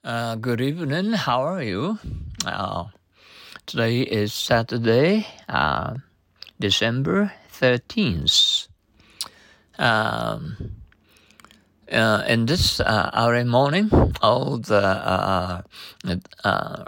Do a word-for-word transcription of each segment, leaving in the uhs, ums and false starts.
Uh, good evening. How are you? Uh, today is Saturday, uh, December thirteenth. Um, uh, in this uh, early morning, all the uh, uh,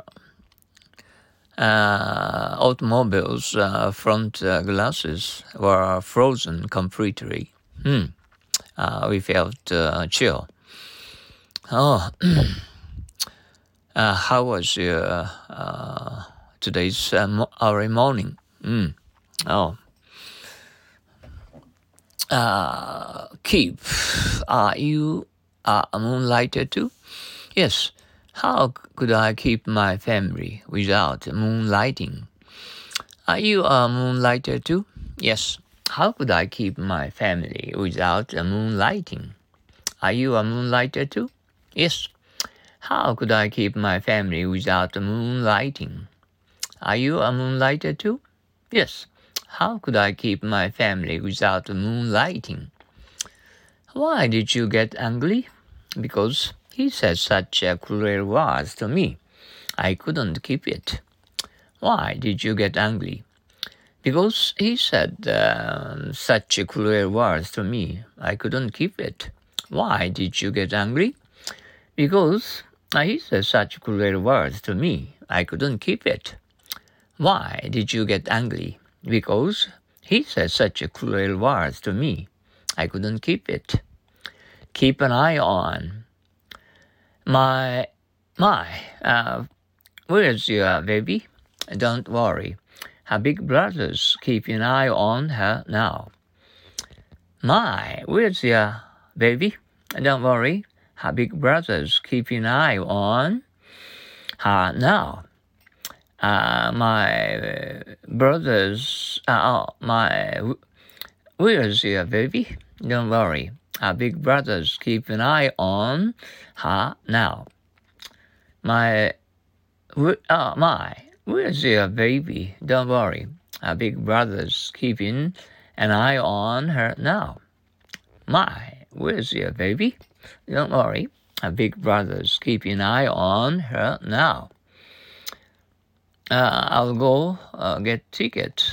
uh, automobiles' uh, front uh, glasses were frozen completely. Hmm. Uh, we felt uh, chill. Oh. Uh, how was your uh, today's uh, mo- early morning? Mm. Oh, uh, keep. Are you uh, a moonlighter too? Yes. How could I keep my family without moonlighting? Are you a moonlighter too? Yes. How could I keep my family without moonlighting? Are you a moonlighter too? Yes. How could I keep my family without moonlighting? Are you a moonlighter too? Yes. How could I keep my family without moonlighting? Why did you get angry? Because he said such a cruel words to me. I couldn't keep it. Why did you get angry? Because he said uh, such cruel words to me. I couldn't keep it. Why did you get angry? Because he said such cruel words to me. I couldn't keep it. Why did you get angry? Because he said such cruel words to me. I couldn't keep it. Keep an eye on. My, my, uh, where's your baby? Don't worry. Her big brother's keeping an eye on her now. My, where's your baby? Don't worry. Her big brother's keeping an eye on her now. Uh, my brothers, uh, my, where's your baby? Don't worry. Our big brothers keep an eye on her now. My, uh, my, where's your baby? Don't worry. Our big brothers keeping an eye on her now. My, where's your baby? Don't worry. Our big brothers keeping an eye on her now. Uh, I'll go uh, get tickets.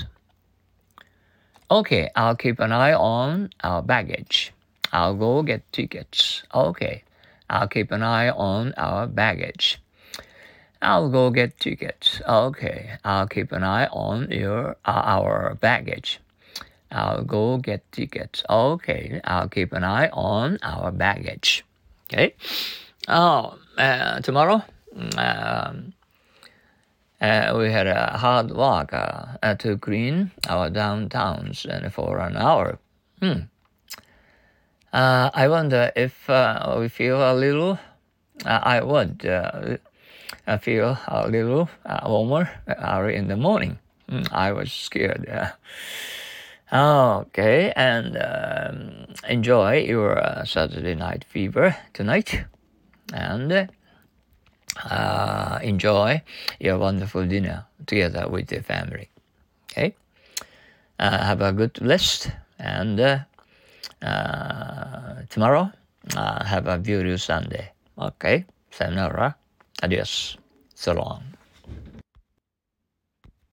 Okay, I'll keep an eye on our baggage. I'll go get tickets. Okay, I'll keep an eye on our baggage. I'll go get tickets. Okay, I'll keep an eye on your uh, our baggage. I'll go get tickets. Okay, I'll keep an eye on our baggage. Okay. Oh, uh, tomorrow. Um, Uh, we had a hard work uh, uh, to clean our downtowns and for an hour. Hmm. Uh, I wonder if uh, we feel a little. Uh, I would uh, feel a little uh, warmer early in the morning. Hmm. I was scared. Uh, okay, and um, enjoy your uh, Saturday night fever tonight, and. Uh, enjoy your wonderful dinner together with your family. Okay? Uh, have a good rest, and uh, uh, tomorrow, uh, have a beautiful Sunday. Okay? Sayonara. Adios. So long.